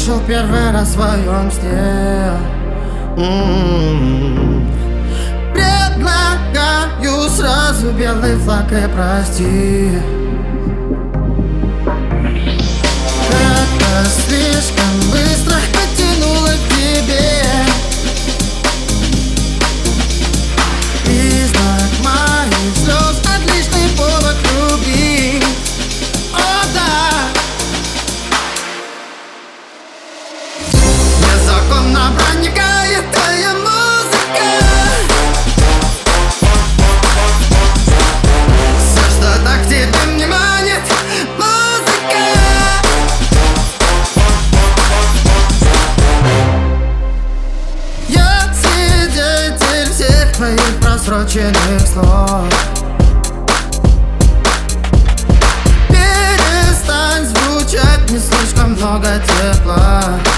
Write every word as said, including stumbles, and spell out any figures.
услышал первый раз в своем сне. М-м-м. Предлагаю сразу белый флаг и прости. Это слишком быстро потянуло к тебе. Признак моих слез, отличный повод любить. О да! Незаконно проникает твоя музыка. Все, что так тебе не манит, музыка. Я свидетель всех твоих просроченных слов. Перестань звучать, не слишком много тепла.